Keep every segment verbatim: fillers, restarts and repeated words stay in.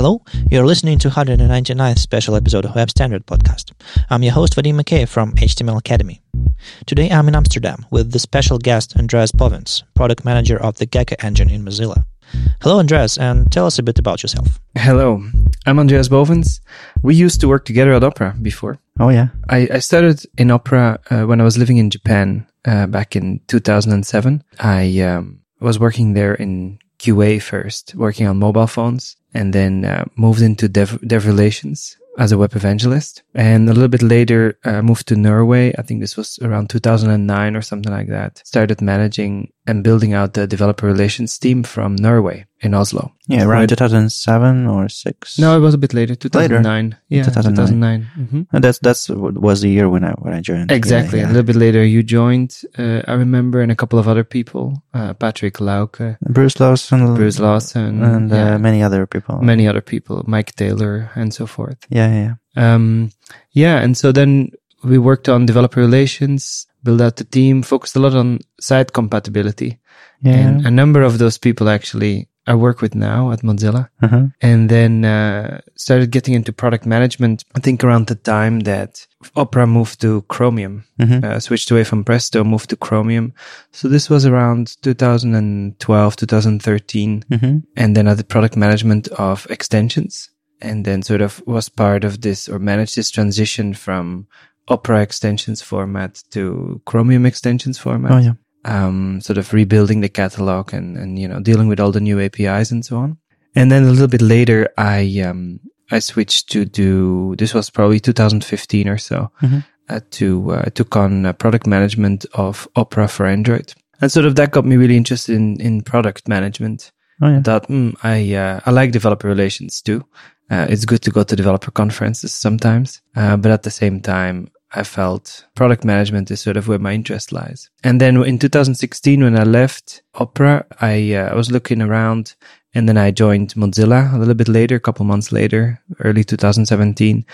Hello, you're listening to one hundred ninety-ninth special episode of Web Standard Podcast. I'm your host, Vadim McKay from H T M L Academy. Today I'm in Amsterdam with the special guest Andreas Bovens, product manager of the Gecko engine in Mozilla. Hello, Andreas, and tell us a bit about yourself. Hello, I'm Andreas Bovens. We used to work together at Opera before. Oh, yeah? I, I started in Opera uh, when I was living in Japan uh, back in two thousand seven. I um, was working there in Q A first, working on mobile phones, and then uh, moved into dev, dev relations as a web evangelist. And a little bit later, uh, moved to Norway. I think this was around two thousand nine or something like that. Started managing and building out the developer relations team from Norway in Oslo. Yeah, around two thousand seven or six. No, it was a bit later, two thousand nine. Later. Yeah, two thousand nine. two thousand nine. Mm-hmm. And that's that's was the year when I when I joined. Exactly. Yeah, yeah. A little bit later, you joined. Uh, I remember, and a couple of other people, uh, Patrick Lauke, Bruce Lawson, Bruce Lawson, and uh, yeah. many other people. many other people, Mike Taylor, and so forth. Yeah, yeah, yeah. Um, yeah, and so then we worked on developer relations, built out the team, focused a lot on site compatibility. Yeah. And a number of those people actually I work with now at Mozilla. Uh-huh. And then uh, started getting into product management, I think around the time that Opera moved to Chromium, Mm-hmm. uh, switched away from Presto, moved to Chromium. So this was around two thousand twelve, two thousand thirteen. Mm-hmm. And then I did product management of extensions, and then sort of was part of this or managed this transition from Opera extensions format to Chromium extensions format. Oh, yeah. Um, sort of rebuilding the catalog and, and, you know, dealing with all the new A P Is and so on. And then a little bit later, I, um, I switched to do, this was probably two thousand fifteen or so, Mm-hmm. uh, to, uh, took on uh, product management of Opera for Android. And sort of that got me really interested in, in product management. Oh, yeah. I thought, mm, I, uh, I like developer relations too. Uh, it's good to go to developer conferences sometimes. Uh, but at the same time, I felt product management is sort of where my interest lies. And then in two thousand sixteen, when I left Opera, I, uh, I was looking around, and then I joined Mozilla a little bit later, a couple months later, early two thousand seventeen,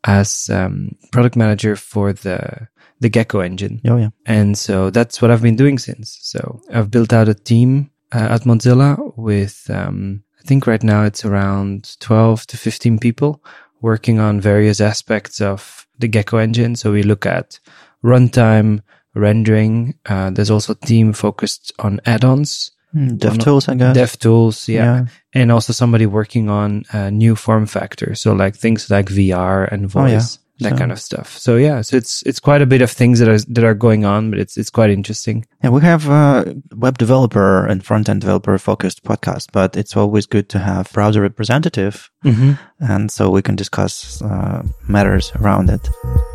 as um, product manager for the the Gecko engine. Oh, yeah. And so that's what I've been doing since. So I've built out a team uh, at Mozilla with, um, I think right now it's around twelve to fifteen people working on various aspects of the Gecko engine. So we look at runtime, rendering. Uh, there's also a team focused on add-ons. Mm, DevTools, I guess. DevTools, yeah. Yeah. And also somebody working on uh, new form factors. So like things like V R and voice, Oh, yeah. that So- kind of stuff. So yeah, so it's it's quite a bit of things that are that are going on, but it's it's quite interesting. Yeah, we have a web developer and front-end developer focused podcast, but it's always good to have browser representative, Mm-hmm. and so we can discuss uh, matters around it.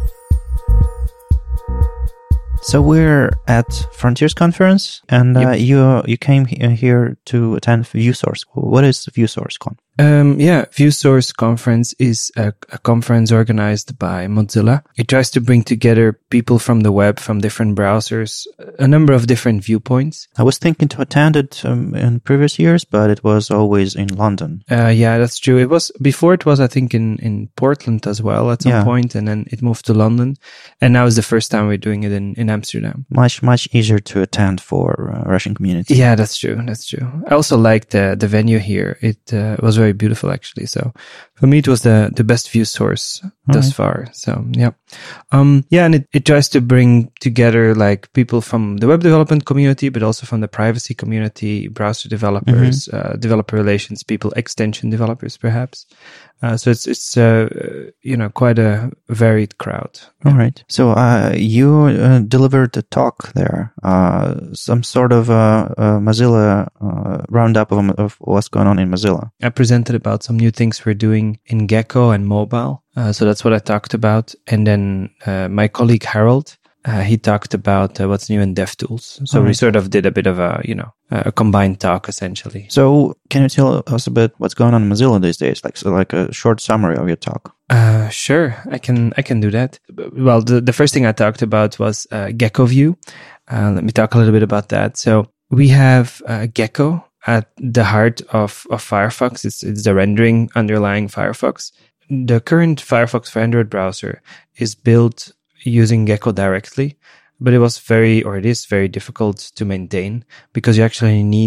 So we're at Frontiers Conference, and uh, Yep. you you came he- here to attend ViewSource. What is ViewSource Con? Um, yeah, ViewSource Conference is a, a conference organized by Mozilla. It tries to bring together people from the web, from different browsers, a number of different viewpoints. I was thinking to attend it um, in previous years, but it was always in London. Uh, yeah, that's true. It was, before it was, I think, in, in Portland as well at some Yeah. point, and then it moved to London. And now is the first time we're doing it in, in Amsterdam. Much, much easier to attend for uh, Russian community. Yeah, that's true. That's true. I also liked the, the venue here. It uh, was very beautiful, actually. So for me, it was the, the best view source thus right. far. So yeah. Um, yeah, and it, it tries to bring together like people from the web development community, but also from the privacy community, browser developers, uh, developer relations people, extension developers, perhaps. Uh, so it's, it's, uh, you know, quite a varied crowd. All right. So uh, you uh, delivered a talk there, uh, some sort of uh, uh, Mozilla uh, roundup of, of what's going on in Mozilla. I presented about some new things we're doing in Gecko and mobile. Uh, so that's what I talked about. And then uh, my colleague Harold, uh, he talked about uh, what's new in DevTools. So All we right. sort of did a bit of a, you know, a combined talk essentially. So can you tell us a bit what's going on in Mozilla these days? Like so like a short summary of your talk. Uh, sure, I can I can do that. Well, the, the first thing I talked about was uh, Gecko View. Uh, let me talk a little bit about that. So we have uh, Gecko at the heart of, of Firefox. It's it's the rendering underlying Firefox. The current Firefox for Android browser is built using Gecko directly, but it was very, or it is very difficult to maintain because you actually need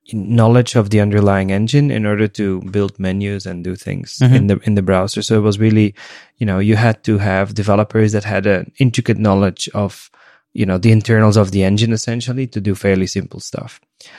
knowledge of the underlying engine in order to build menus and do things Mhm. in the in the browser. So it was really, you know, you had to have developers that had an intricate knowledge of, you know, the internals of the engine essentially to do fairly simple stuff.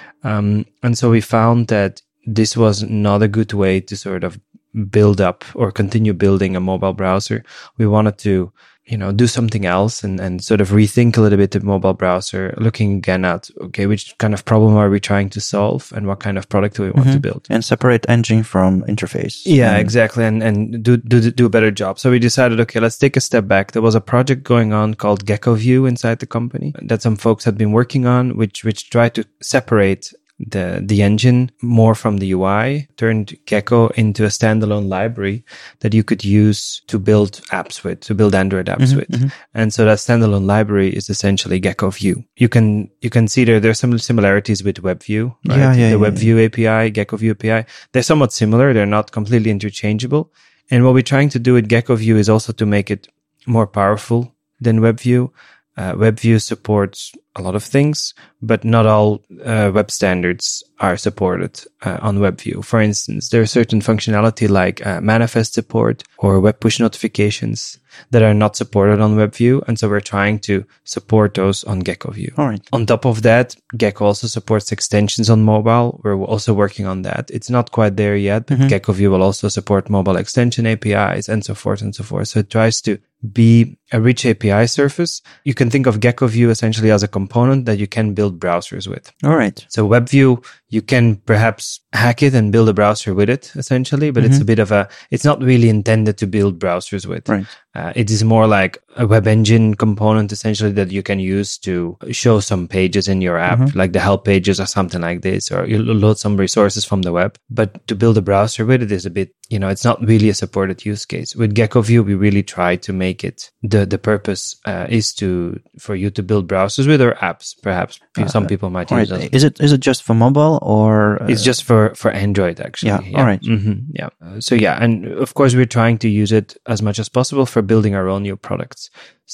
Um, and so we found that this was not a good way to sort of build up or continue building a mobile browser. We wanted to, you know, do something else and, and sort of rethink a little bit the mobile browser, looking again at, okay, which kind of problem are we trying to solve and what kind of product do we want Mhm. to build? And separate engine from interface. Yeah, And- exactly. And, and do, do, do a better job. So we decided, okay, let's take a step back. There was a project going on called Gecko View inside the company that some folks had been working on, which, which tried to separate the the engine more from the U I, turned Gecko into a standalone library that you could use to build apps with, to build Android apps Mhm, with. mhm. And so that standalone library is essentially Gecko View. You can you can see there there's some similarities with WebView, right? Yeah, yeah, the yeah, WebView A P I, Gecko View A P I, they're somewhat similar. They're not completely interchangeable. And what we're trying to do with Gecko View is also to make it more powerful than WebView. Uh, WebView supports a lot of things, but not all uh, web standards are supported uh, on WebView. For instance, there is certain functionality like uh, manifest support or web push notifications that are not supported on WebView. And so we're trying to support those on Gecko View. All right. On top of that, Gecko also supports extensions on mobile. We're also working on that. It's not quite there yet, but Mhm. Gecko View will also support mobile extension A P Is and so forth and so forth. So it tries to be a rich A P I surface. You can think of Gecko View essentially as a component that you can build browsers with. All right. So WebView, you can perhaps hack it and build a browser with it essentially, but it's Mhm. a bit of a, it's not really intended to build browsers with. Right. Uh, it is more like a web engine component essentially that you can use to show some pages in your app, Mhm. like the help pages or something like this, or you load some resources from the web. But to build a browser with it is a bit, you know, it's not really a supported use case. With Gecko View, we really try to make it, the, the purpose uh, is to, for you to build browsers with or apps, perhaps. Some Uh, people might All use right. those. Is it is it just for mobile or uh, It's just for, for Android, actually. Yeah, all right. hmm yeah. Uh, so yeah, and of course we're trying to use it as much as possible for building our own new products.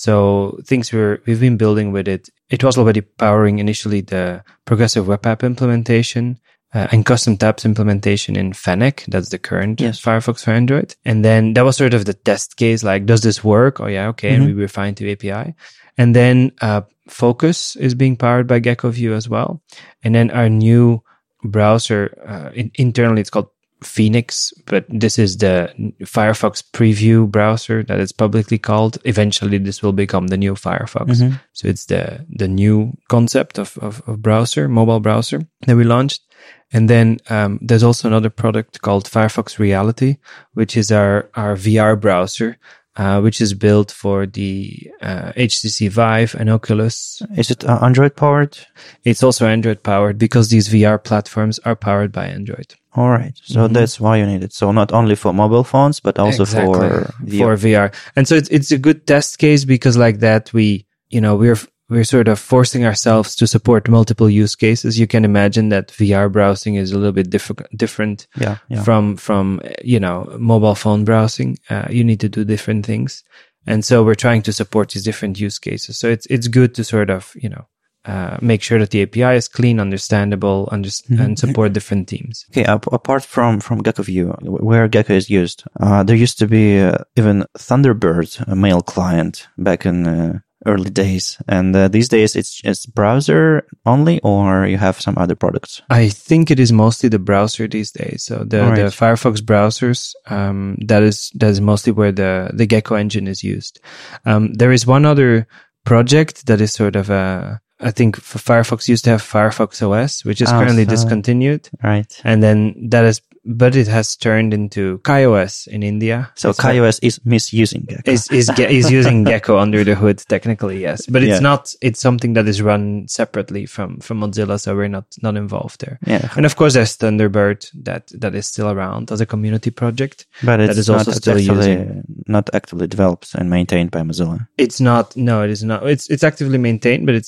So things we're, we've been building with it. It was already powering initially the progressive web app implementation uh, and custom tabs implementation in Fennec. That's the current Yes. Firefox for Android. And then that was sort of the test case. Like, does this work? Oh yeah. Okay. Mhm. And we refined to A P I. And then, uh, Focus is being powered by Gecko View as well. And then our new browser, uh, in, internally it's called Phoenix, but this is the Firefox preview browser that it's publicly called. Eventually this will become the new Firefox. Mhm. So it's the, the new concept of, of, of browser, mobile browser that we launched. And then, um, there's also another product called Firefox Reality, which is our, our V R browser, uh, which is built for the, uh, H T C Vive and Oculus. Is it uh, Android powered? It's also Android powered because these V R platforms are powered by Android. All right. So Mhm. that's why you need it. So not only for mobile phones, but also Exactly. for V R. for V R. And so it's it's a good test case because like that we, you know, we're we're sort of forcing ourselves to support multiple use cases. You can imagine that V R browsing is a little bit different different Yeah. Yeah. from from you know, mobile phone browsing. Uh, you need to do different things. And so we're trying to support these different use cases. So it's it's good to sort of, you know, uh, make sure that the A P I is clean, understandable, underst- Mhm. and support different teams. Okay, ap- apart from, from Gecko View, where Gecko is used, uh, there used to be uh, even Thunderbird, a mail client, back in uh, early days. And uh, these days it's it's browser only, or you have some other products? I think it is mostly the browser these days. So the, All right. the Firefox browsers, um, that is, that is mostly where the, the Gecko engine is used. Um, there is one other project that is sort of a, I think for Firefox used to have Firefox O S, which is Oh, currently so- discontinued. Right. And then that is, but it has turned into KaiOS in India. So It's like- KaiOS is misusing Gecko. is is ge- is using Gecko under the hood technically, yes, but it's Yeah. not. It's something that is run separately from from Mozilla, so we're not not involved there. Yeah, And of course, there's Thunderbird that that is still around as a community project. but it's that is not also still actually using- not actively developed and maintained by Mozilla. It's not. No, it is not. It's it's actively maintained, but it's not developed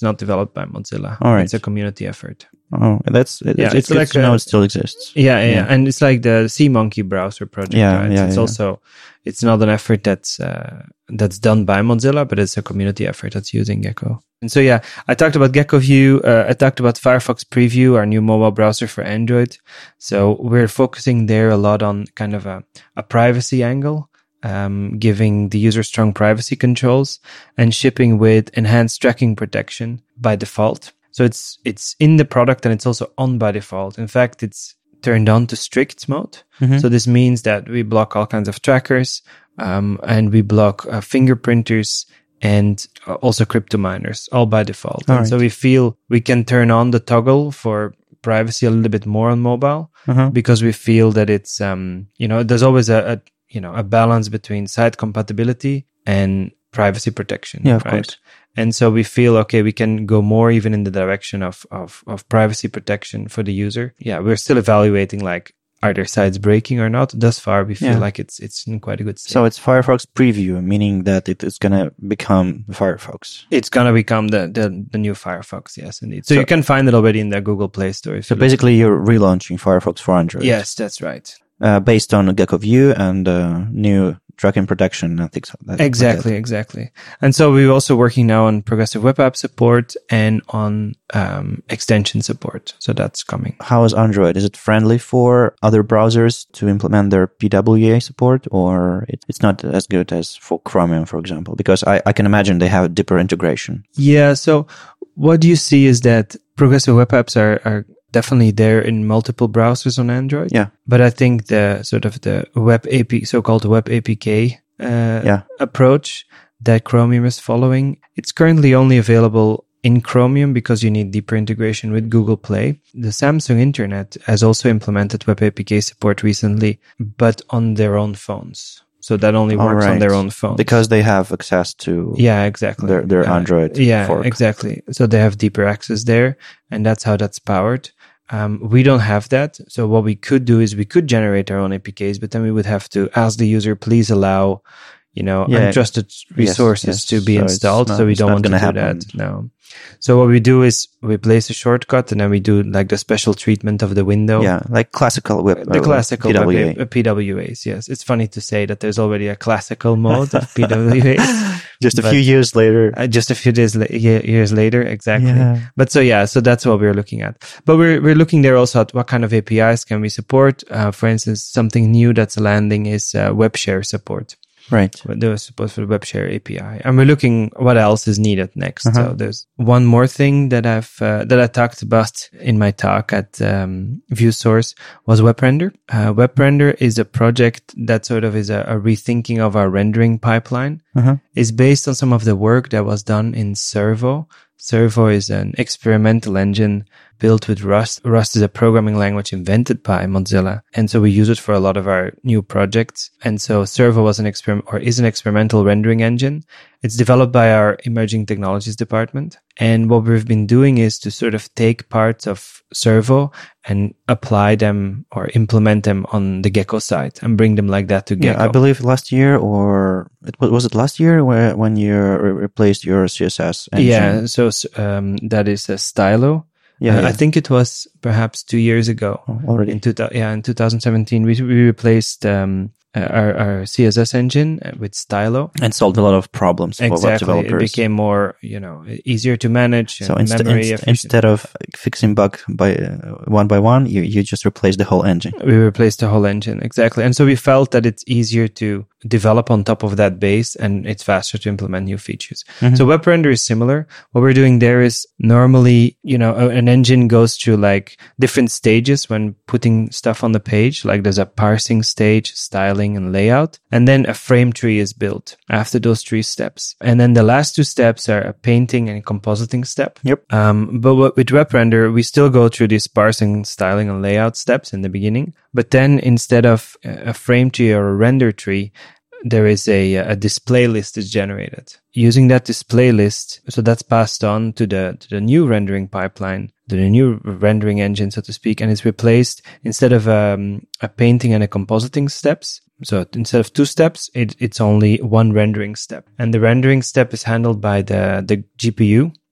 developed by Mozilla. All right. It's a community effort. Oh, that's it, Yeah, it's, it's good like to know a- it still exists. Yeah, yeah, Yeah. yeah. And it's like the SeaMonkey browser project. Yeah, right? yeah, It's yeah. also, it's not an effort that's, uh, that's done by Mozilla, but it's a community effort that's using Gecko. And so, yeah, I talked about Gecko View. Uh, I talked about Firefox Preview, our new mobile browser for Android. So we're focusing there a lot on kind of a, a privacy angle, um, giving the user strong privacy controls and shipping with enhanced tracking protection by default. So it's, it's in the product and it's also on by default. In fact, it's turned on to strict mode. Mhm. So this means that we block all kinds of trackers, um, and we block uh, fingerprinters and uh, also crypto miners, all by default. All and right. so we feel we can turn on the toggle for privacy a little bit more on mobile Uh-huh. because we feel that it's, um, you know, there's always a, a, you know, a balance between site compatibility and privacy protection. Yeah, of right? course. And so we feel, okay, we can go more even in the direction of, of, of privacy protection for the user. Yeah, we're still evaluating like, are their sites breaking or not? Thus far, we feel Yeah. like it's, it's in quite a good state. So it's Firefox Preview, meaning that it is going to become Firefox. It's going to become the, the, the new Firefox. Yes, indeed. So, So- you can find it already in the Google Play Store. If So you look. basically, you're relaunching Firefox for Android. Yes, that's right. Uh, based on Gecko View and uh, new tracking protection and things like that. Exactly, exactly. And so we're also working now on progressive web app support and on um, extension support. So that's coming. How is Android? Is it friendly for other browsers to implement their P W A support, or it, it's not as good as for Chromium, for example? Because I, I can imagine they have a deeper integration. Yeah. So what you see is that progressive web apps are, are definitely there in multiple browsers on Android. Yeah. But I think the sort of the web A P, so-called web A P K uh, Yeah. approach that Chromium is following, it's currently only available in Chromium because you need deeper integration with Google Play. The Samsung Internet has also implemented web A P K support recently, but on their own phones. So that only All works on right. their own phones. Because they have access to Yeah, exactly. their, their Uh, Android Yeah, fork. exactly. So they have deeper access there, and that's how that's powered. Um, we don't have that. So what we could do is we could generate our own A P Ks, but then we would have to ask the user, please allow, you know, Yeah. untrusted resources yes. to be So it's installed. not- so we it's don't not want to do gonna happen. that. No. So what we do is we place a shortcut and then we do like the special treatment of the window. Yeah, like classical web. The uh, classical P W A. web- uh, P W As, yes. It's funny to say that there's already a classical mode of P W As. Just a but- few years later. Uh, just a few days la- ye- years later, exactly. Yeah. But so yeah, so that's what we're looking at. But we're we're looking there also at what kind of A P Is can we support. Uh, for instance, something new that's landing is uh, web share support. Right. There was support for the web share A P I, and we're looking what else is needed next. Uh-huh. So there's one more thing that I've uh, that I talked about in my talk at um, ViewSource was WebRender. Uh, WebRender is a project that sort of is a, a rethinking of our rendering pipeline. Uh-huh. Is based on some of the work that was done in Servo. Servo is an experimental engine built with Rust. Rust is a programming language invented by Mozilla. And so we use it for a lot of our new projects. And so Servo was an experiment or is an experimental rendering engine. It's developed by our emerging technologies department. And what we've been doing is to sort of take parts of Servo and apply them or implement them on the Gecko side and bring them like that to Gecko. Yeah, I believe last year, or it was, was it last year where when you re- replaced your C S S engine? Yeah, so um, that is a Stylo. Yeah, Uh, yeah. I think it was perhaps two years ago. Oh, already. In two, yeah, in two thousand seventeen, we we replaced um, uh, our our C S S engine with Stylo. And solved a lot of problems for web Exactly, it developers. became more, you know, easier to manage. So and inst- memory inst- efficient. instead of fixing bug by uh, one by one, you, you just replace the whole engine. We replaced the whole engine, exactly. And so we felt that it's easier to develop on top of that base and it's faster to implement new features. Mhm. So WebRender is similar. What we're doing there is normally, you know, a- an engine goes through like different stages when putting stuff on the page. Like there's a parsing stage, styling and layout. And then a frame tree is built after those three steps. And then the last two steps are a painting and compositing step. Yep. Um, but what, with WebRender, we still go through these parsing, styling, and layout steps in the beginning. But then instead of a frame tree or a render tree, there is a, a display list is generated. Using that display list, so that's passed on to the to the new rendering pipeline, to the new rendering engine, so to speak, and it's replaced instead of um, a painting and a compositing steps. So instead of two steps, it, it's only one rendering step, and the rendering step is handled by the the G P U.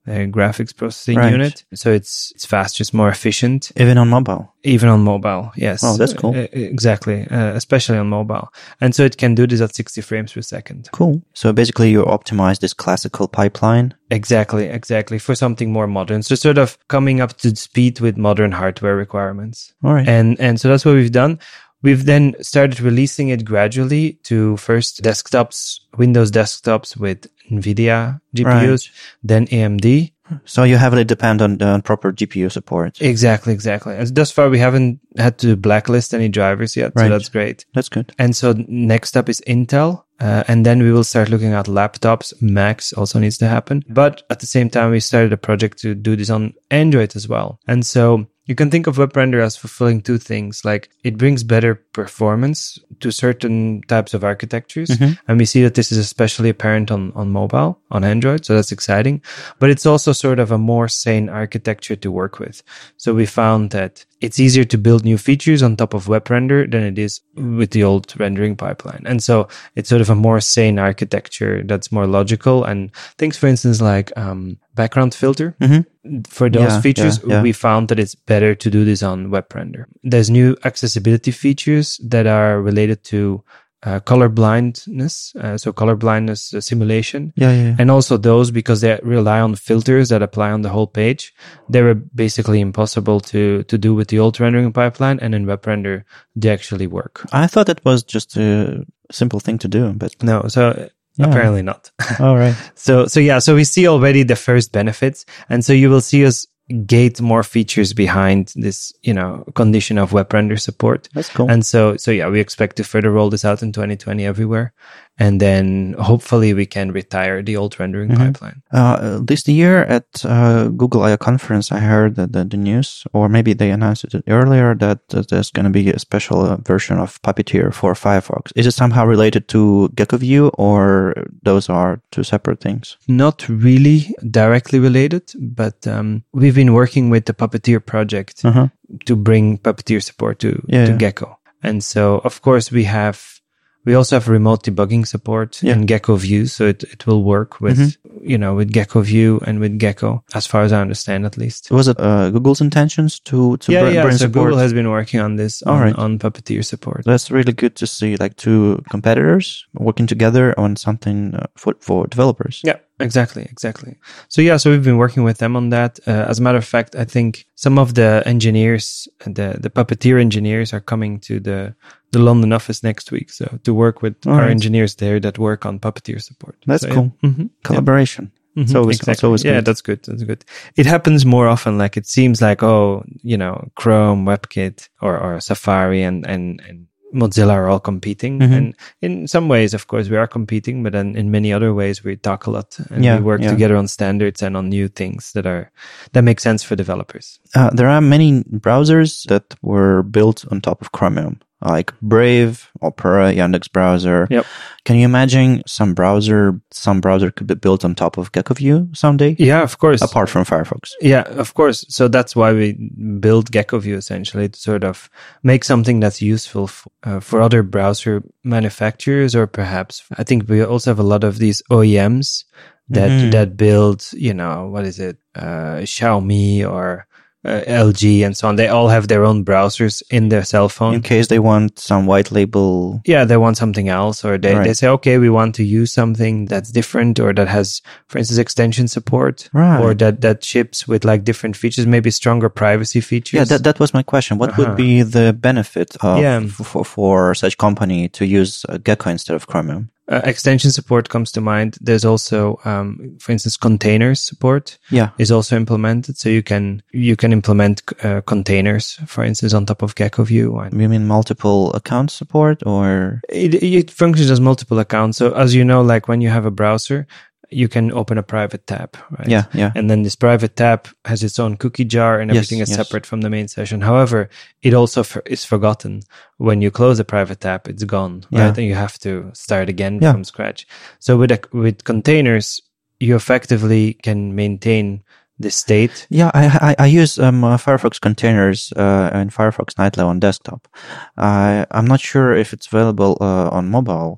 uh, graphics processing Right. unit. So it's it's faster, it's more efficient. Even on mobile. Even on mobile, yes. Oh, that's cool. Uh, exactly, uh, especially on mobile. And so it can do this at sixty frames per second. Cool. So basically you optimize this classical pipeline. Exactly, exactly. For something more modern. So sort of coming up to speed with modern hardware requirements. All right. And and so that's what we've done. We've then started releasing it gradually to first desktops, Windows desktops with NVIDIA G P Us, Right. then A M D. So you heavily depend on, on proper G P U support. Exactly, exactly. And thus far, we haven't had to blacklist any drivers yet, Right. so that's great. That's good. And so next up is Intel. Uh, and then we will start looking at laptops. Macs also needs to happen. But at the same time, we started a project to do this on Android as well. And so you can think of WebRender as fulfilling two things. Like it brings better performance to certain types of architectures. Mm-hmm. And we see that this is especially apparent on, on mobile, on Android. So that's exciting. But it's also sort of a more sane architecture to work with. So we found that it's easier to build new features on top of WebRender than it is with the old rendering pipeline. And so it's sort of a more sane architecture that's more logical. And things, for instance, like um, background filter. Mm-hmm. For those Yeah, features, yeah, yeah. we found that it's better to do this on WebRender. There's new accessibility features that are related to uh, color blindness, uh, so color blindness uh, simulation. Yeah, yeah. And also those, because they rely on filters that apply on the whole page, they were basically impossible to, to do with the old rendering pipeline. And in WebRender, they actually work. I thought it was just a simple thing to do, but No, so Yeah. apparently not. all right. So, so yeah, so we see already the first benefits. And so you will see us gate more features behind this, you know, condition of WebRender support. That's cool. And so, so yeah, we expect to further roll this out in twenty twenty everywhere. And then hopefully we can retire the old rendering Mhm. pipeline. Uh, this year at uh, Google I O conference, I heard that the, the news, or maybe they announced it earlier, that, that there's going to be a special uh, version of Puppeteer for Firefox. Is it somehow related to GeckoView, or those are two separate things? Not really directly related, but um, we've been working with the Puppeteer project Uh-huh. to bring Puppeteer support to, Yeah, to yeah. Gecko. And so, of course, we have, we also have remote debugging support Yeah. in GeckoView. So it, it will work with, Mm-hmm. you know, with GeckoView and with Gecko, as far as I understand, at least. Was it uh, Google's intentions to, to yeah, br- yeah. bring So support? Google has been working on this All on, right. on Puppeteer support. That's really good to see, like two competitors working together on something uh, for, for developers. Yeah, exactly, exactly. So yeah, so we've been working with them on that. Uh, as a matter of fact, I think some of the engineers, the the Puppeteer engineers, are coming to the the London office next week. So to work with All our right. engineers there that work on Puppeteer support. That's So, yeah. cool. Mhm. Collaboration. Yeah. It's Mhm. always, it's always yeah, good. that's good. That's good. It happens more often. Like it seems like, oh, you know, Chrome, WebKit, or, or Safari and, and, and Mozilla are all competing. Mhm. And in some ways, of course, we are competing, but then in many other ways, we talk a lot and Yeah, we work yeah. together on standards and on new things that are, that make sense for developers. Uh, there are many browsers that were built on top of Chromium, like Brave, Opera, Yandex Browser. Yep. Can you imagine some browser, some browser could be built on top of GeckoView someday? Yeah, of course. Apart from Firefox. Yeah, of course. So that's why we build GeckoView essentially to sort of make something that's useful f- uh, for other browser manufacturers, or perhaps I think we also have a lot of these O E Ms that Mhm. that build, you know, what is it, uh, Xiaomi or uh, L G and so on. They all have their own browsers in their cell phone. In case they want some white label. Yeah, they want something else, or they, Right. they say, okay, we want to use something that's different, or that has, for instance, extension support, Right. or that, that ships with like different features, maybe stronger privacy features. Yeah, that, that was my question. What Uh-huh. would be the benefit of, Yeah. f- for, for such company to use uh, Gecko instead of Chromium? Uh, extension support comes to mind. There's also, um, for instance, containers support Yeah. is also implemented. So you can, you can implement uh, containers, for instance, on top of GeckoView. And You mean multiple account support, or? it, it functions as multiple accounts. So as you know, like when you have a browser, you can open a private tab, right? Yeah, yeah. And then this private tab has its own cookie jar and Yes, everything is yes. separate from the main session. However, it also for, is forgotten. When you close a private tab, it's gone, Yeah. right? And you have to start again Yeah. from scratch. So with a, with containers, you effectively can maintain the state. Yeah, I I, I use um, uh, Firefox containers uh, and Firefox Nightly on desktop. I I'm not sure if it's available uh, on mobile.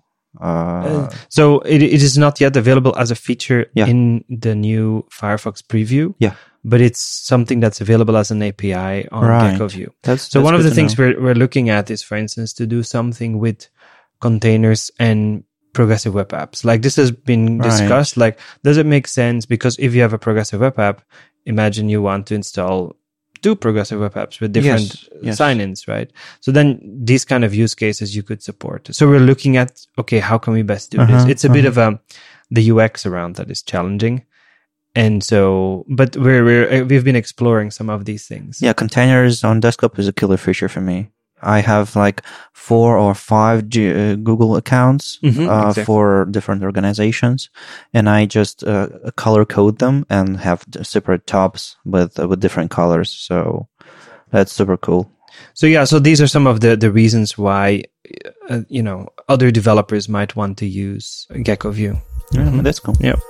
Uh, Uh, so it, it is not yet available as a feature Yeah. in the new Firefox preview. Yeah. But it's something that's available as an A P I on Right. GeckoView. that's So that's one of good the to things know. we're we're looking at is, for instance, to do something with containers and progressive web apps. Like this has been Right. discussed. Like, does it make sense? Because if you have a progressive web app, imagine you want to install two progressive web apps with different Yes, yes. sign-ins, right? So then these kind of use cases you could support. So we're looking at, okay, how can we best do this? Uh-huh, It's a bit uh-huh. of a, the U X around that is challenging. And so, but we're, we're, we've been exploring some of these things. Yeah, containers on desktop is a killer feature for me. I have like four or five G- uh, Google accounts Mhm, uh, exactly. for different organizations, and I just uh, color code them and have d- separate tabs with uh, with different colors. So that's super cool. So yeah, so these are some of the, the reasons why, uh, you know, other developers might want to use GeckoView. Yeah, Mhm. that's cool. Yeah.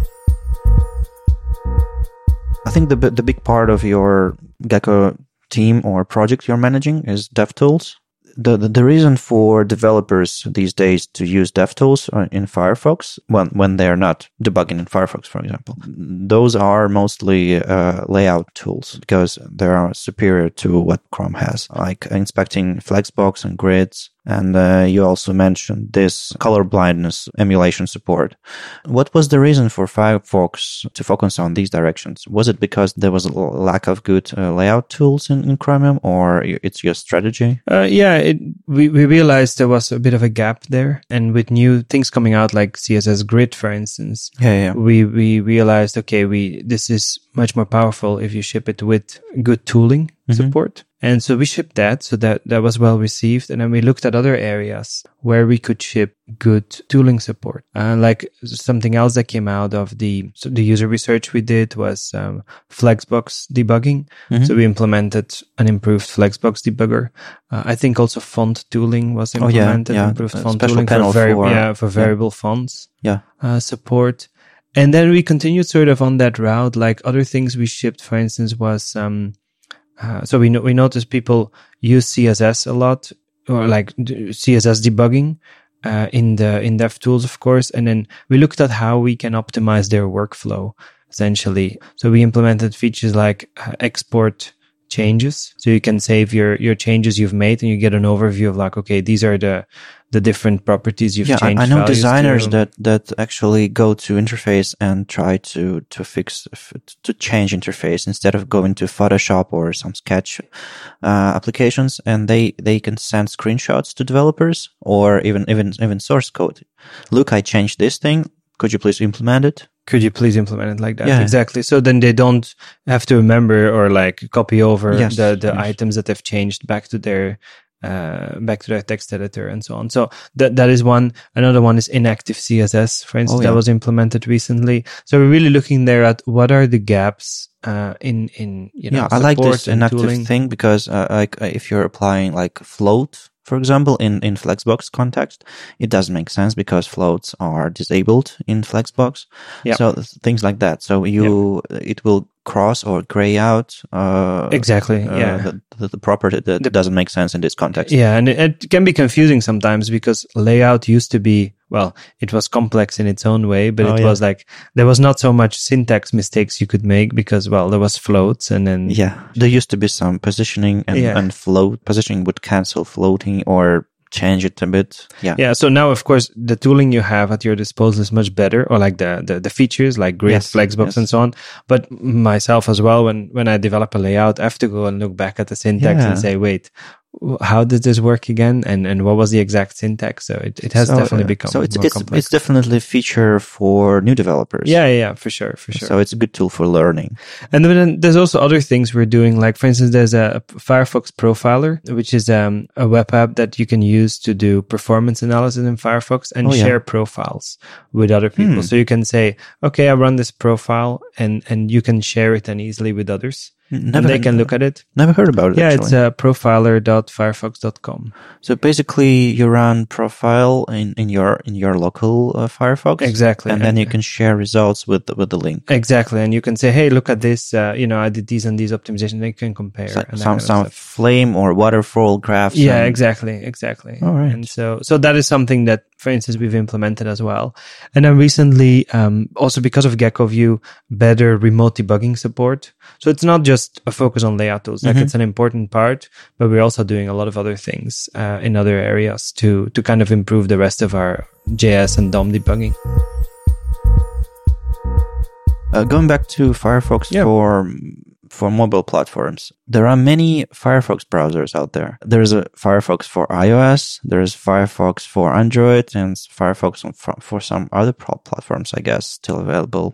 I think the bi- the big part of your Gecko team or project you're managing is DevTools. The, the the reason for developers these days to use DevTools uh, in Firefox when when they're not debugging in Firefox, for example, those are mostly uh, layout tools because they are superior to what Chrome has, like inspecting Flexbox and grids. And uh, you also mentioned this color blindness emulation support. What was the reason for Firefox to focus on these directions? Was it because there was a l- lack of good uh, layout tools in, in Chromium, or it's your strategy? Uh, yeah, it, we, we realized there was a bit of a gap there. And with new things coming out like C S S Grid, for instance, Yeah, yeah. we, we realized, okay, we, this is much more powerful if you ship it with good tooling Mhm. support. And so we shipped that. So that, that was well received. And then we looked at other areas where we could ship good tooling support. Uh, like something else that came out of the, so the user research we did was, um, Flexbox debugging. Mhm. So we implemented an improved Flexbox debugger. Uh, I think also font tooling was Oh, yeah, implemented, yeah. improved A font special tooling panel for, vari- for- yeah, for yeah. variable fonts Yeah. uh, support. And then we continued sort of on that route. Like other things we shipped, for instance, was, um, uh, so we no- we noticed people use C S S a lot, or like d- C S S debugging, uh, in the, in DevTools, of course. And then we looked at how we can optimize their workflow, essentially. So we implemented features like uh, export changes. So you can save your, your changes you've made and you get an overview of like, okay, these are the, the different properties you've Yeah, I, changed. I know values designers to. that, that actually go to interface and try to, to fix, f- to change interface instead of going to Photoshop or some Sketch uh, applications, and they, they can send screenshots to developers or even, even, even source code. Look, I changed this thing. Could you please implement it? Could you please implement it like that? Yeah. Exactly. So then they don't have to remember or like copy over Yes, the, the yes. items that they've changed back to their, uh, back to their text editor and so on. So that, that is one. Another one is inactive C S S, for instance, Oh, yeah. that was implemented recently. So we're really looking there at what are the gaps, uh, in, in, you know, Yeah, I like support this and inactive tooling. thing because uh, like uh, if you're applying like float, for example, in, in Flexbox context, it doesn't make sense because floats are disabled in Flexbox. Yeah. So th- things like that. So you, it will cross or gray out, uh, Exactly. uh, Yeah. the, the, the property that The- doesn't make sense in this context. Yeah, and it, it can be confusing sometimes because layout used to be, well, it was complex in its own way, but Oh, it yeah. was like, there was not so much syntax mistakes you could make because, well, there was floats and then, Yeah. There used to be some positioning and, Yeah. and float. Positioning would cancel floating or change it a bit. Yeah. yeah. So now, of course, the tooling you have at your disposal is much better, or like the, the, the features like Grid, Yes, Flexbox yes. and so on. But myself as well, when, when I develop a layout, I have to go and look back at the syntax Yeah. and say, wait, w- how did this work again? And, and what was the exact syntax? So it, it has So, definitely uh, become so it's, more it's, complex. it's definitely a feature for new developers. yeah, yeah, yeah, for sure, for sure. So it's a good tool for learning. And then there's also other things we're doing. Like, for instance, there's a Firefox Profiler, which is um, a web app that you can use to do performance analysis in Firefox and Oh, yeah. share profiles with other people. Hmm. So you can say, okay, I run this profile and, and you can share it then easily with others. Never, and they can look at it. Never heard about it. Yeah, actually. it's uh, profiler dot firefox dot com. So basically, you run profile in, in your in your local uh, Firefox, Exactly. and then you can share results with the, with the link. Exactly. And you can say, hey, look at this. Uh, you know, I did these and these optimizations. They can compare. So, and that some kind of some stuff. flame or waterfall graphs. Yeah, and- exactly, exactly. All right. And so, so that is something that for instance, we've implemented as well. And then recently, um, also because of Gecko View, better remote debugging support. So it's not just a focus on layout tools. Like, mm-hmm. it's an important part, but we're also doing a lot of other things uh, in other areas to to kind of improve the rest of our J S and D O M debugging. Uh, going back to Firefox yeah. for for mobile platforms, there are many Firefox browsers out there. There's a Firefox for iOS, there's Firefox for Android, and Firefox for, for some other platforms, I guess, still available.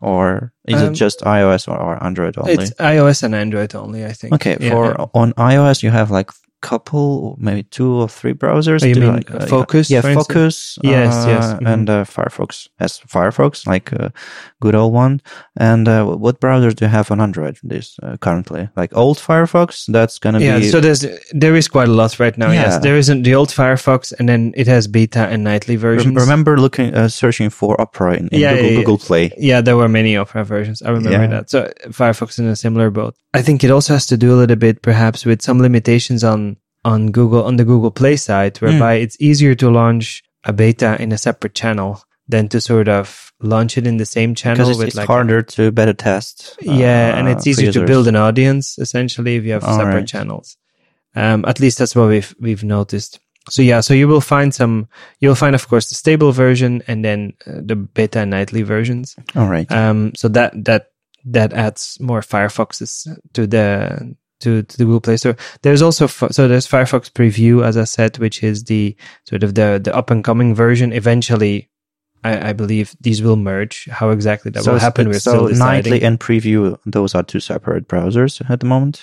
Or is um, it just iOS or, or Android only? It's iOS and Android only, I think. Okay, yeah, for yeah. on iOS you have like couple, maybe two or three browsers. Oh, you mean like, uh, Focus? Yeah, Focus. Uh, yes, yes. Mm-hmm. And uh, Firefox as Firefox, like a good old one. And uh, what browsers do you have on Android this uh, currently? Like old Firefox? That's going to yeah, be... Yeah, so there's, there is quite a lot right now. Yeah. Yes, there isn't the old Firefox, and then it has beta and nightly versions. Re- remember looking, uh, searching for Opera in, in yeah, Google, yeah, Google Play? Yeah, there were many Opera versions. I remember yeah. that. So Firefox is in a similar boat. I think it also has to do a little bit perhaps with some limitations on on Google, on the Google Play side, whereby mm. it's easier to launch a beta in a separate channel than to sort of launch it in the same channel. Because it's, with it's like harder to beta test. Yeah, uh, and it's easier to build an audience, essentially, if you have All separate right. channels. Um, at least that's what we've, we've noticed. So yeah, so you will find some, you'll find, of course, the stable version and then uh, the beta and nightly versions. All right. Um, so that, that, that adds more Firefoxes to the, To, to the Google Play Store. There's also, so there's Firefox Preview, as I said, which is the sort of the, the up and coming version. Eventually, I, I believe these will merge. How exactly that so will happen, we're so still deciding. Nightly and Preview, those are two separate browsers at the moment?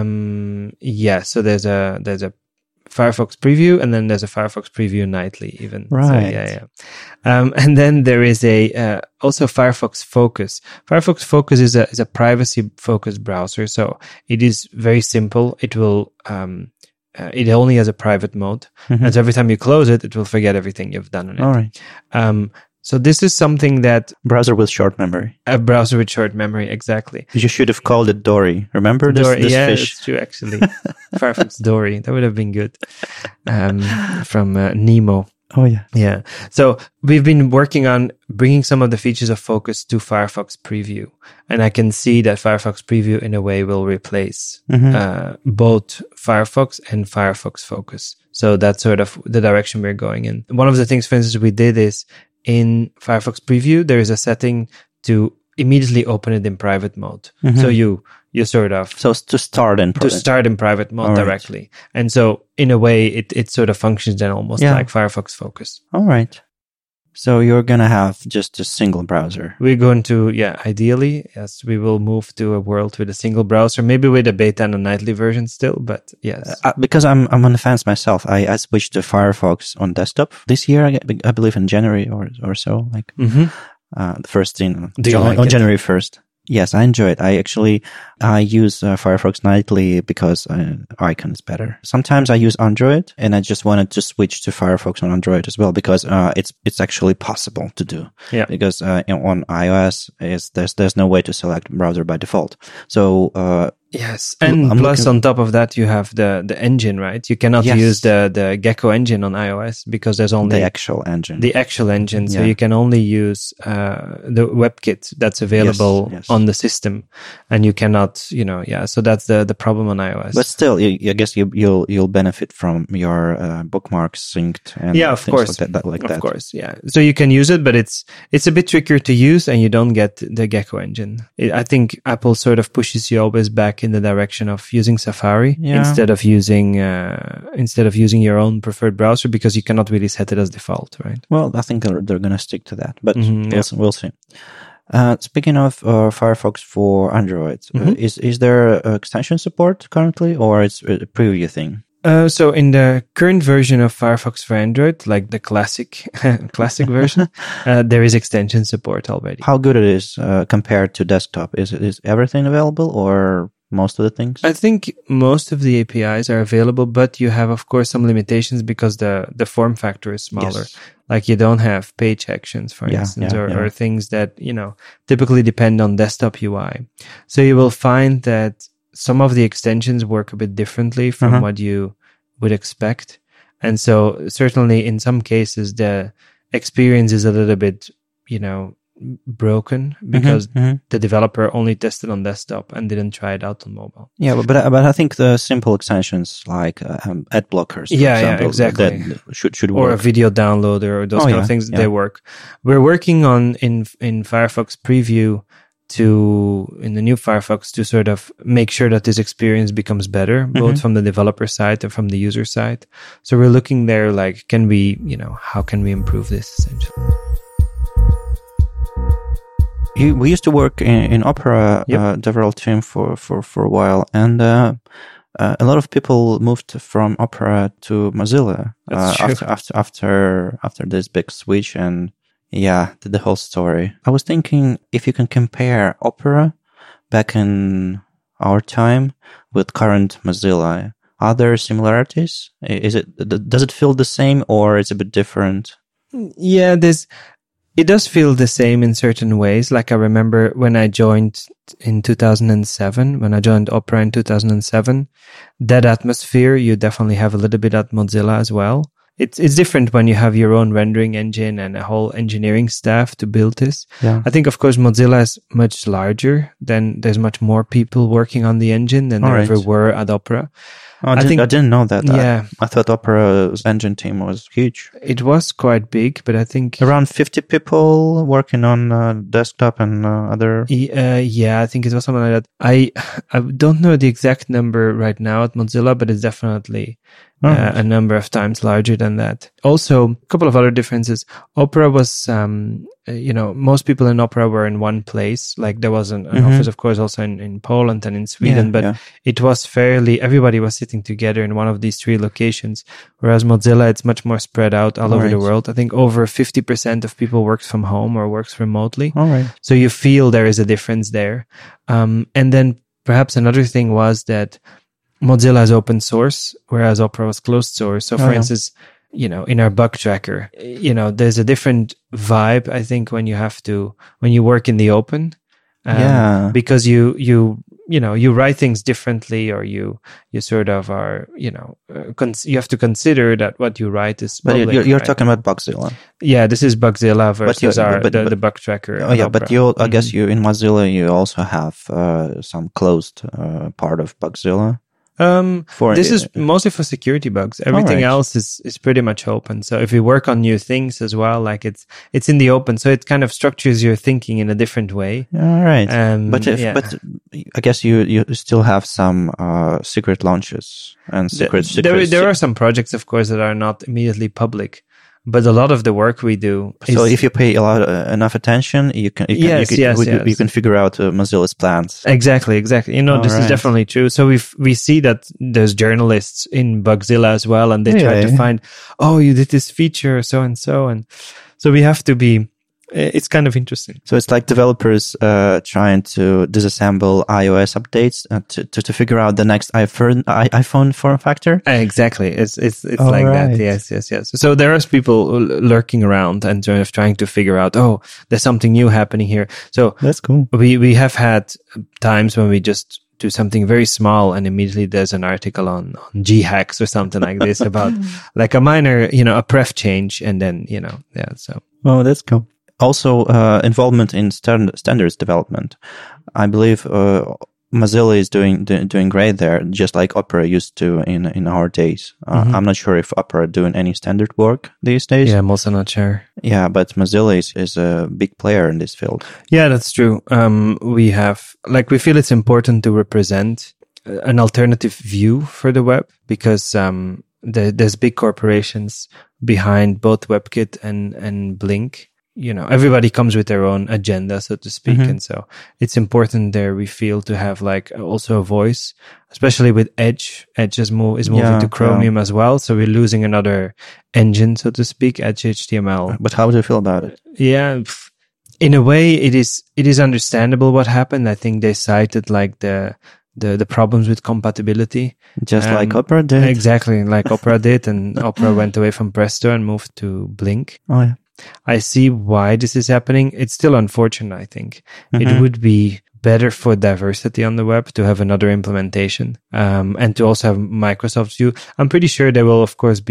Um, yeah, so there's a, there's a Firefox Preview, and then there's a Firefox Preview Nightly even. Right. So, yeah, yeah. Um, and then there is a, uh, also Firefox Focus. Firefox Focus is a, is a privacy focused browser. So it is very simple. It will, um, uh, it only has a private mode. Mm-hmm. And so every time you close it, it will forget everything you've done on it. All right. Um, So this is something that... Browser with short memory. A browser with short memory, exactly. You should have called it Dory. Remember this, Dory, this yeah, fish? Yeah, that's true, actually. Firefox Dory. That would have been good. Um, from uh, Nemo. Oh, yeah. Yeah. So we've been working on bringing some of the features of Focus to Firefox Preview. And I can see that Firefox Preview, in a way, will replace mm-hmm. uh, both Firefox and Firefox Focus. So that's sort of the direction we're going in. One of the things, for instance, we did is in Firefox Preview, there is a setting to immediately open it in private mode. Mm-hmm. So you you sort of... So to start in private. To start in private mode All directly. Right. And so in a way, it, it sort of functions then almost yeah. like Firefox Focus. All right. So you're going to have just a single browser. We're going to, yeah, ideally, yes, we will move to a world with a single browser, maybe with a beta and a nightly version still, but yes. Uh, because I'm I'm on the fence myself. I, I switched to Firefox on desktop this year, I, I believe in January or or so, like mm-hmm. uh, the first thing Do you on, like on it? January first. Yes, I enjoy it. I actually, I use uh, Firefox Nightly because uh, icon is better. Sometimes I use Android, and I just wanted to switch to Firefox on Android as well because uh, it's it's actually possible to do. Yeah. Because uh, on iOS, is there's there's no way to select browser by default. So uh, yes, and I'm plus looking... on top of that, you have the the engine, right? You cannot yes. use the the Gecko engine on iOS because there's only the actual engine. The actual engine, so yeah. you can only use uh, the WebKit that's available yes, yes. on the system, and you cannot, you know, yeah. So that's the the problem on iOS. But still, you, I guess you, you'll you'll benefit from your uh, bookmarks synced and yeah, of things course, like that. Like of that. course, yeah. So you can use it, but it's it's a bit trickier to use, and you don't get the Gecko engine. It, I think Apple sort of pushes you always back in the direction of using Safari yeah. instead of using uh, instead of using your own preferred browser because you cannot really set it as default, right? Well, I think they're, they're going to stick to that, but mm-hmm, we'll, yeah. we'll see. Uh, speaking of uh, Firefox for Android, mm-hmm. uh, is is there uh, extension support currently, or it's a preview thing? Uh, so in the current version of Firefox for Android, like the classic classic version, uh, there is extension support already. How good it is uh, compared to desktop? Is is everything available, or most of the things? I think most of the A P Is are available, but you have, of course, some limitations because the, the form factor is smaller. Yes. Like you don't have page actions, for yeah, instance, yeah, or, yeah. or things that, you know, typically depend on desktop U I. So you will find that some of the extensions work a bit differently from uh-huh. what you would expect. And so certainly in some cases, the experience is a little bit, you know, broken because Mm-hmm, mm-hmm. the developer only tested on desktop and didn't try it out on mobile. Yeah, but but, but I think the simple extensions like uh, um, ad blockers, for Yeah, yeah, example, exactly. that should should Or work. a video downloader or those Oh, kind yeah, of things, yeah. they work. We're working on in in Firefox Preview to in the new Firefox to sort of make sure that this experience becomes better, both Mhm. from the developer side and from the user side. So we're looking there like, can we, you know, how can we improve this essentially? You, we used to work in, in Opera Yep. uh, DevRel team for, for, for a while, and uh, uh, a lot of people moved from Opera to Mozilla That's uh, true. after after after after this big switch, and yeah, the, the whole story. I was thinking if you can compare Opera back in our time with current Mozilla, are there similarities? Is it does it feel the same or is it a bit different? Yeah, there's, it does feel the same in certain ways. Like I remember when I joined in two thousand seven, when I joined Opera in two thousand seven, that atmosphere, you definitely have a little bit at Mozilla as well. It's it's different when you have your own rendering engine and a whole engineering staff to build this. Yeah. I think, of course, Mozilla is much larger. Then there's much more people working on the engine than All there right. ever were at Opera. Oh, I, I didn't, think- I didn't know that. Yeah. I, I thought Opera's engine team was huge. It was quite big, but I think Around fifty people working on uh, desktop and uh, other. Y- Uh, yeah, I think it was something like that. I I don't know the exact number right now at Mozilla, but it's definitely uh, Alright. a number of times larger than that. Also, a couple of other differences. Opera was, um, uh, you know, most people in Opera were in one place. Like there was an, an Mhm. office, of course, also in, in Poland and in Sweden, Yeah, but yeah. it was fairly, everybody was sitting together in one of these three locations. Whereas Mozilla, it's much more spread out all over the Right. world. I think over fifty percent of people works from home or works remotely. All right. So you feel there is a difference there. Um, and then perhaps another thing was that Mozilla is open source, whereas Opera was closed source. So for Oh, yeah. instance, you know, in our bug tracker, you know, there's a different vibe, I think, when you have to, when you work in the open. Um, Yeah. Because you, you, you know, you write things differently, or you, you sort of are, you know, uh, cons- you have to consider that what you write is But public, you're, you're right? talking about Bugzilla. Yeah, this is Bugzilla versus you- our, but- the, but- the bug tracker. Oh at yeah, but Opera. you, I guess Mhm. you in Mozilla you also have uh, some closed uh, part of Bugzilla. Um, For this is uh, mostly for security bugs. Everything Alright. else is, is pretty much open. So if you work on new things as well, like it's, it's in the open. So it kind of structures your thinking in a different way. all right. Um, But if, yeah. but I guess you you still have some uh, secret launches and Th- secret. secret there, there are some projects, of course, that are not immediately public, but a lot of the work we do is, so if you pay a lot uh, enough attention, you can you can, Yes, you, can, yes, you, you yes. can figure out uh, Mozilla's plans. Exactly, exactly. You know, this Alright. is definitely true. So we we see that there's journalists in Bugzilla as well, and they try to Really? find, oh, you did this feature, so and so, and so we have to be. It's kind of interesting. So it's like developers uh, trying to disassemble iOS updates uh, to, to to figure out the next iPhone i- iPhone form factor. Exactly. It's it's it's All like right. that. Yes, yes, yes. So there are people lurking around and sort of trying to figure out, oh, there's something new happening here. So That's cool. we we have had times when we just do something very small and immediately there's an article on, on G hacks or something like this about like a minor, you know, a pref change, and then, you know, yeah. So Oh, that's cool. Also, uh, involvement in stand- standards development. I believe uh, Mozilla is doing do, doing great there, just like Opera used to in in our days. Uh, Mhm. I'm not sure if Opera doing any standard work these days. yeah, I'm also not sure. Yeah, but Mozilla is, is a big player in this field. Yeah, that's true. Um, we have, like, we feel it's important to represent uh, an alternative view for the web because, um, the, there's big corporations behind both WebKit and, and Blink. You know, everybody comes with their own agenda, so to speak. Mhm. And so it's important there, we feel, to have like also a voice, especially with Edge. Edge is, move, is moving Yeah, to Chromium as well. So we're losing another engine, so to speak, Edge H T M L. But how do you feel about it? Yeah, pff, in a way, it is it is understandable what happened. I think they cited like the the the problems with compatibility, Just Um, like Opera did? exactly like Opera did, and Opera went away from Presto and moved to Blink. Oh, yeah. I see why this is happening. It's still unfortunate. I think Mhm. it would be better for diversity on the web to have another implementation, um, and to also have Microsoft's view. I'm pretty sure there will, of course, be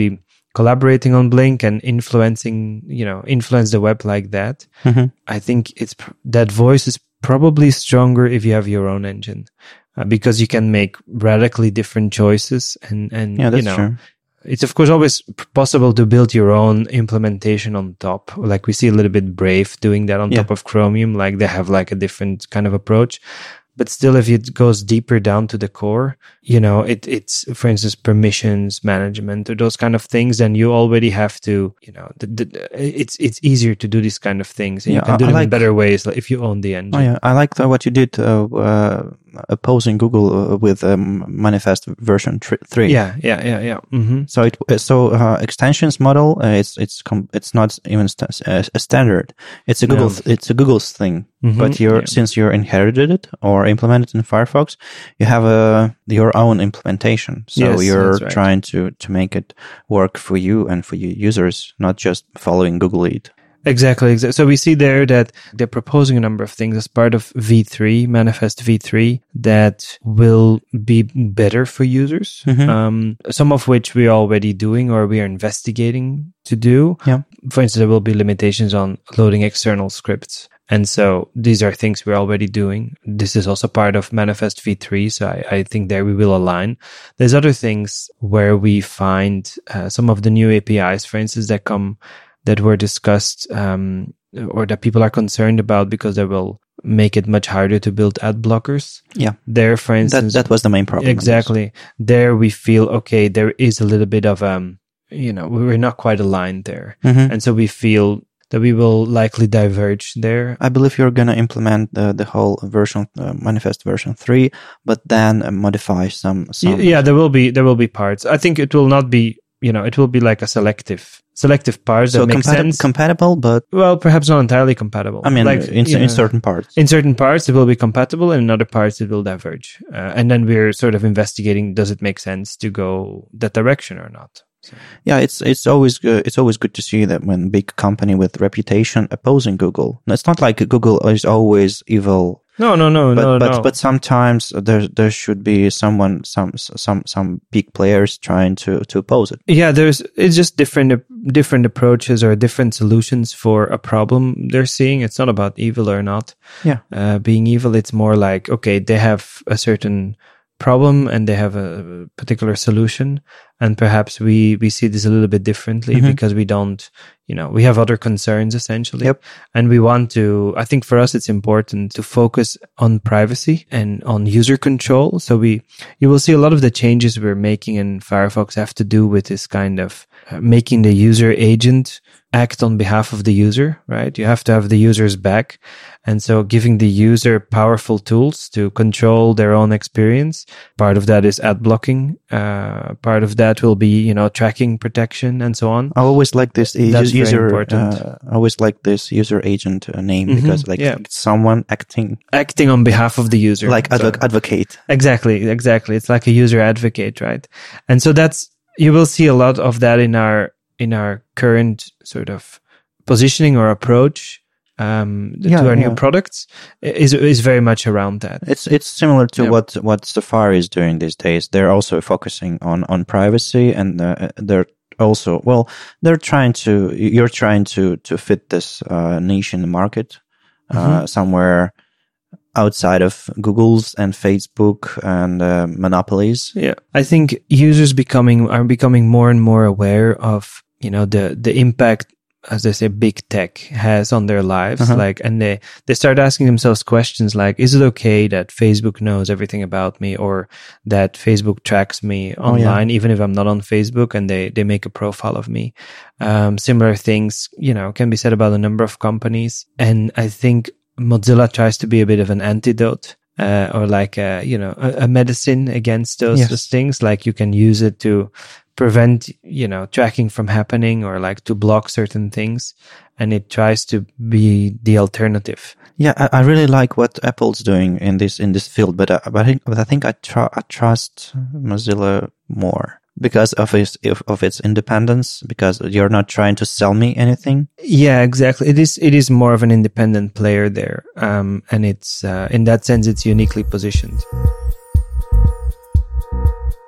collaborating on Blink and influencing, you know, influence the web like that, Mm-hmm. I think it's that voice is probably stronger if you have your own engine, uh, because you can make radically different choices and, and Yeah, that's you know, true. it's of course always p- possible to build your own implementation on top. Like we see a little bit Brave doing that on Yeah. top of Chromium, like they have like a different kind of approach. But still, if it goes deeper down to the core, you know, it, it's, for instance, permissions management or those kind of things, then you already have to, you know, the, the, it's it's easier to do these kind of things. And Yeah, you can do I- I them in like- better ways like if you own the engine. Oh yeah, I like the, what you did uh, uh, opposing Google uh, with um, Manifest version tr- three. Yeah, yeah, yeah, yeah. Mm-hmm. So it so uh, extensions model uh, it's it's com- it's not even st- uh, a standard. It's a Google No. th- it's a Google's thing. Mhm, But you're yeah. since you're inherited it or implemented in Firefox, you have a your own implementation. So Yes, you're that's right. trying to to make it work for you and for your users, not just following Google lead. Exactly, exactly. So we see there that they're proposing a number of things as part of V three, Manifest V three, that will be better for users. Mhm. Um, some of which we're already doing or we are investigating to do. Yeah. For instance, there will be limitations on loading external scripts. And so these are things we're already doing. This is also part of Manifest V three. So I, I think there we will align. There's other things where we find uh, some of the new A P Is, for instance, that come that were discussed um, or that people are concerned about because they will make it much harder to build ad blockers. Yeah. There, for That instance, that was the main problem. I guess. exactly. There we feel, okay, there is a little bit of, um, you know, we're not quite aligned there. Mhm. And so we feel that we will likely diverge there. I believe you're going to implement the, the whole version, uh, Manifest version three, but then uh, modify some, some. Y- Yeah, there will be, there will be parts. I think it will not be, you know, it will be like a selective, selective parts So that make compati- sense. compatible, but Well, perhaps not entirely compatible. I mean, like, in, you in know, certain parts. in certain parts it will be compatible, and in other parts it will diverge. Uh, and then we're sort of investigating: does it make sense to go that direction or not? So, Yeah, it's it's always good. It's always good to see that when big company with reputation opposing Google. It's not like Google is always evil, no, no, no, but no, but no. but sometimes there there should be someone some some some big players trying to to oppose it. yeah, there's it's just different different approaches or different solutions for a problem they're seeing. It's not about evil or not. Yeah. Uh, being evil, it's more like, okay, they have a certain problem and they have a particular solution, and perhaps we we see this a little bit differently Mhm. because we don't, you know, we have other concerns essentially. Yep. And we want to, I think for us it's important to focus on privacy and on user control. So we, you will see a lot of the changes we're making in Firefox have to do with this kind of uh, making the user agent act on behalf of the user, right? You have to have the user's back. And so giving the user powerful tools to control their own experience. Part of that is ad blocking. Uh, part of that will be, you know, tracking protection and so on. I always like this uh, That's very user. important. Uh, I always like this user agent uh, name Mhm, because like yeah. it's someone acting Acting on behalf of the user. like So- advo- advocate. Exactly, exactly. It's like a user advocate, right? And so that's, you will see a lot of that in our, in our current sort of positioning or approach, um, Yeah, to our yeah. new products is, is very much around that. It's it's similar to Yeah. what what Safari is doing these days. They're also focusing on on privacy, and uh, they're also well, they're trying to. You're trying to to fit this uh, niche in the market uh, Mhm. somewhere outside of Google's and Facebook and uh, monopolies. Yeah. I think users becoming, are becoming more and more aware of, you know, the, the impact, as they say, big tech has on their lives. Uh-huh. Like, and they, they start asking themselves questions like, is it okay that Facebook knows everything about me, or that Facebook tracks me Oh, yeah. online, even if I'm not on Facebook, and they, they make a profile of me? Um, similar things, you know, can be said about a number of companies. And I think Mozilla tries to be a bit of an antidote. Uh, or like a, you know, a, a medicine against those, Yes. those things. Like you can use it to prevent, you know, tracking from happening, or like to block certain things. And it tries to be the alternative. Yeah, I, I really like what Apple's doing in this in this field, but uh, but I think but I think I, tr- I trust Mozilla more because of its of, of its independence. Because you're not trying to sell me anything. Yeah, exactly. It is, it is more of an independent player there. Um, and it's, uh, in that sense, it's uniquely positioned.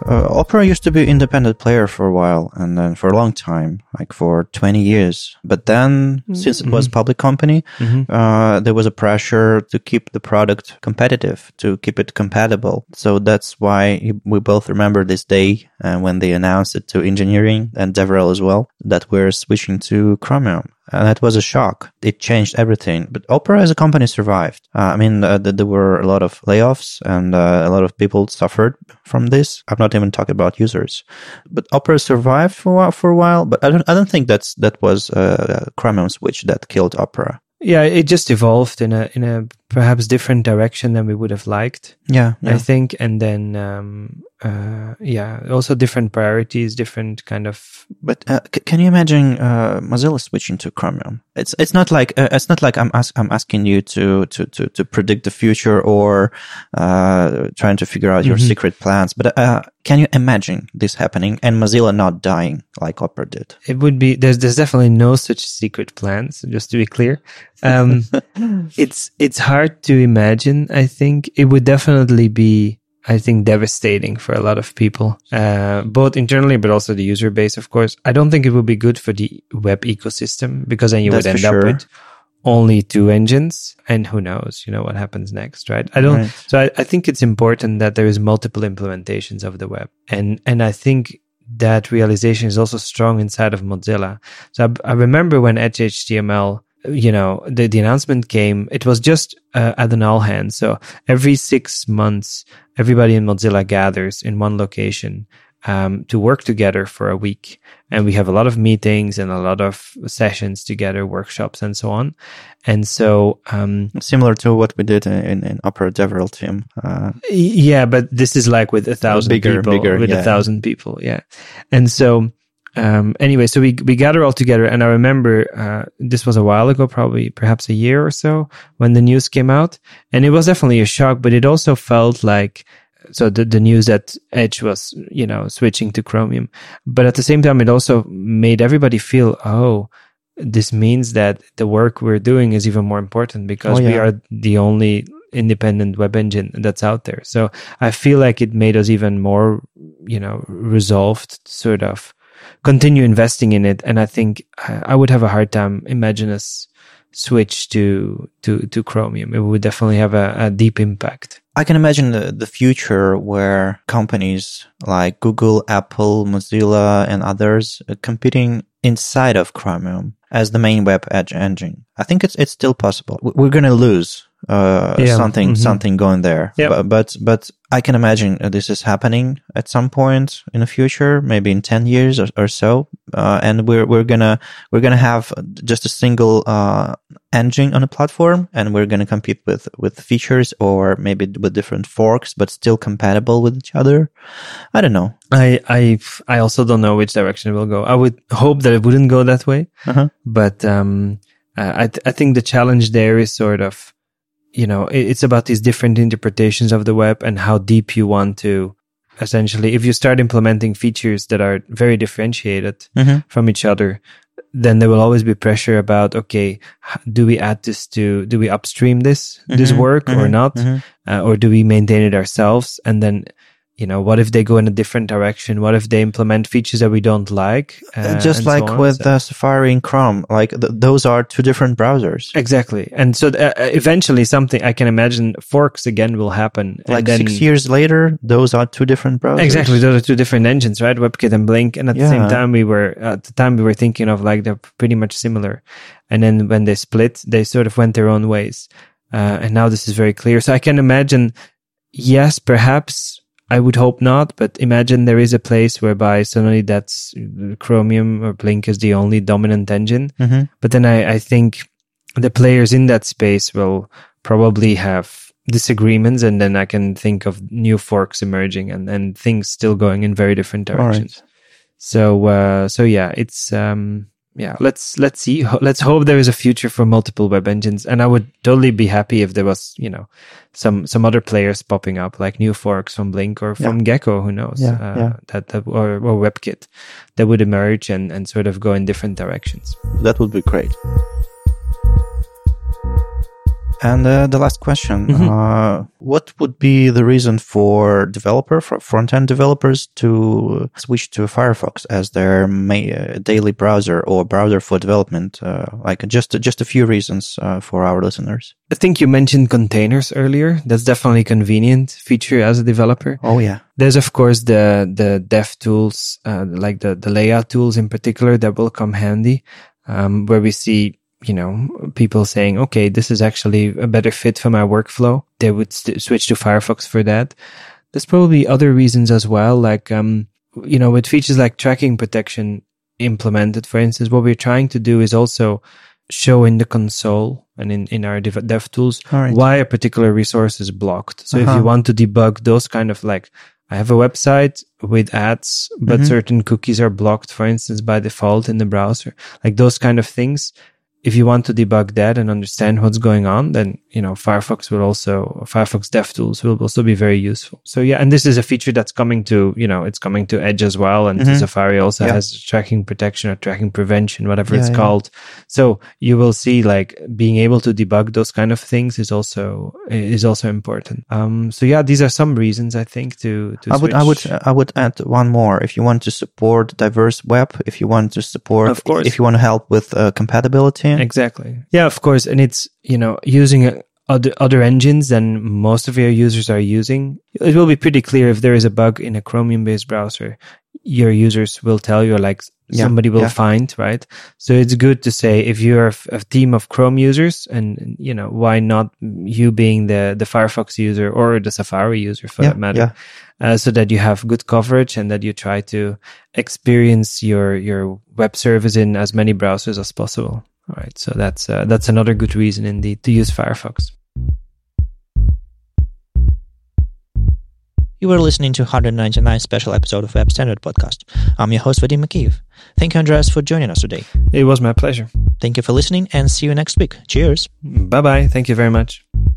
Uh, Opera used to be an independent player for a while, and then for a long time, like for twenty years. But then, mm-hmm. since it was a public company, mm-hmm. uh, there was a pressure to keep the product competitive, to keep it compatible. So that's why we both remember this day uh, when they announced it to engineering and DevRel as well, that we're switching to Chromium. And that was a shock. It changed everything. But Opera as a company survived. Uh, I mean, uh, there were a lot of layoffs and uh, a lot of people suffered from this. I'm not even talking about users. But Opera survived for a while, for a while but I don't, I don't think that's, that was a Chromium switch that killed Opera. Yeah, it just evolved in a in a perhaps different direction than we would have liked. Yeah, yeah. I think, and then um, uh, yeah, also different priorities, different kind of. But uh, c- can you imagine uh, Mozilla switching to Chromium? It's it's not like uh, it's not like I'm ask, I'm asking you to to to to predict the future or uh, trying to figure out your mm-hmm. secret plans. But uh, can you imagine this happening and Mozilla not dying like Opera did? It would be there's there's definitely no such secret plans. Just to be clear. Um, it's it's hard to imagine. I think it would definitely be, I think, devastating for a lot of people, uh, both internally but also the user base. Of course, I don't think it would be good for the web ecosystem because then you That's would end sure. up with only two engines, and who knows, you know, what happens next, right? I don't. Right. So I, I think it's important that there is multiple implementations of the web, and and I think that realization is also strong inside of Mozilla. So I, I remember when Edge H T M L. You know, the, the announcement came, it was just uh, at an all hands. So every six months, everybody in Mozilla gathers in one location um, to work together for a week. And we have a lot of meetings and a lot of sessions together, workshops and so on. And so... Um, Similar to what we did in, in Opera DevRel team. Uh, yeah, but this is like with a thousand bigger, people. Bigger, with yeah. a thousand people, yeah. And so... Um, anyway, so we, we gather all together, and I remember, uh, this was a while ago, probably perhaps a year or so, when the news came out, and it was definitely a shock, but it also felt like, so the, the news that Edge was, you know, switching to Chromium, but at the same time, it also made everybody feel, oh, this means that the work we're doing is even more important because oh, yeah. we are the only independent web engine that's out there. So I feel like it made us even more, you know, resolved, sort of, continue investing in it, and I think I would have a hard time imagine us switch to to to Chromium. It would definitely have a, a deep impact. I can imagine the, the future where companies like Google, Apple, Mozilla, and others are competing inside of Chromium as the main web edge engine. I think it's it's still possible. We're going to lose uh, yeah. something mm-hmm. something going there, yep. but, but but I can imagine this is happening at some point in the future, maybe in ten years or, or so, uh, and we're we're gonna we're gonna have just a single uh, engine on a platform, and we're gonna compete with with features or maybe with different forks, but still compatible with each other. I don't know. I I I also don't know which direction it will go. I would hope that it wouldn't go that way, uh-huh. but um, I th- I think the challenge there is sort of, you know, it's about these different interpretations of the web and how deep you want to, essentially, if you start implementing features that are very differentiated mm-hmm. from each other, then there will always be pressure about, okay, do we add this to, do we upstream this, mm-hmm. this work mm-hmm. or not? Mm-hmm. Uh, or do we maintain it ourselves? And then, you know, what if they go in a different direction? What if they implement features that we don't like? Uh, Just like so with so. uh, Safari and Chrome, like th- those are two different browsers. Exactly. And so uh, eventually something, I can imagine forks again will happen. Like then, six years later, those are two different browsers. Exactly. Those are two different engines, right? WebKit and Blink. And at yeah. the same time, we were, at the time we were thinking of like, they're pretty much similar. And then when they split, they sort of went their own ways. Uh, and now this is very clear. So I can imagine, yes, perhaps, I would hope not, but imagine there is a place whereby suddenly that's Chromium or Blink is the only dominant engine. Mm-hmm. But then I, I think the players in that space will probably have disagreements, and then I can think of new forks emerging and, and things still going in very different directions. Right. So, uh, so yeah, it's, um, yeah, let's, let's see. Let's hope there is a future for multiple web engines. And I would totally be happy if there was, you know, some, some other players popping up, like new forks from Blink or from yeah. Gecko, who knows, yeah, uh, yeah. that, that, or, or WebKit that would emerge and, and sort of go in different directions. That would be great. And uh, the last question, Mm-hmm. uh, what would be the reason for developer, for front-end developers to switch to Firefox as their ma- uh, daily browser or browser for development? Uh, like just, just a few reasons uh, for our listeners. I think you mentioned containers earlier. That's definitely a convenient feature as a developer. Oh, yeah. There's, of course, the, the dev tools, uh, like the, the layout tools in particular that will come handy, um, where we see, you know, people saying, okay, this is actually a better fit for my workflow. They would st- switch to Firefox for that. There's probably other reasons as well. Like, um, you know, with features like tracking protection implemented, for instance, what we're trying to do is also show in the console and in, in our dev, dev tools Right. why a particular resource is blocked. So Uh-huh. if you want to debug those kind of like, I have a website with ads, but Mhm. certain cookies are blocked, for instance, by default in the browser, like those kind of things. If you want to debug that and understand what's going on, then, you know, Firefox will also, Firefox DevTools will also be very useful. So yeah, and this is a feature that's coming to, you know, it's coming to Edge as well. And Mhm. Safari also Yeah. has tracking protection or tracking prevention, whatever Yeah, it's yeah. called. So you will see like being able to debug those kind of things is also, is also important. Um, so yeah, these are some reasons I think to, to I would, I would, switch. I would add one more. If you want to support diverse web, if you want to support, Of course. if you want to help with uh, compatibility. Exactly. Yeah, of course. And it's, you know, using uh, other, other engines than most of your users are using. It will be pretty clear if there is a bug in a Chromium based browser, your users will tell you, like Yeah, somebody will yeah. find, right? So it's good to say if you're a, a team of Chrome users and, you know, why not you being the, the Firefox user or the Safari user for Yeah, that matter. yeah. Uh, so that you have good coverage and that you try to experience your, your web service in as many browsers as possible. All right. So that's, uh, that's another good reason indeed to use Firefox. You were listening to one hundred ninety-ninth special episode of Web Standard Podcast. I'm your host, Vadim Makiyev. Thank you, Andreas, for joining us today. It was my pleasure. Thank you for listening and see you next week. Cheers. Bye bye. Thank you very much.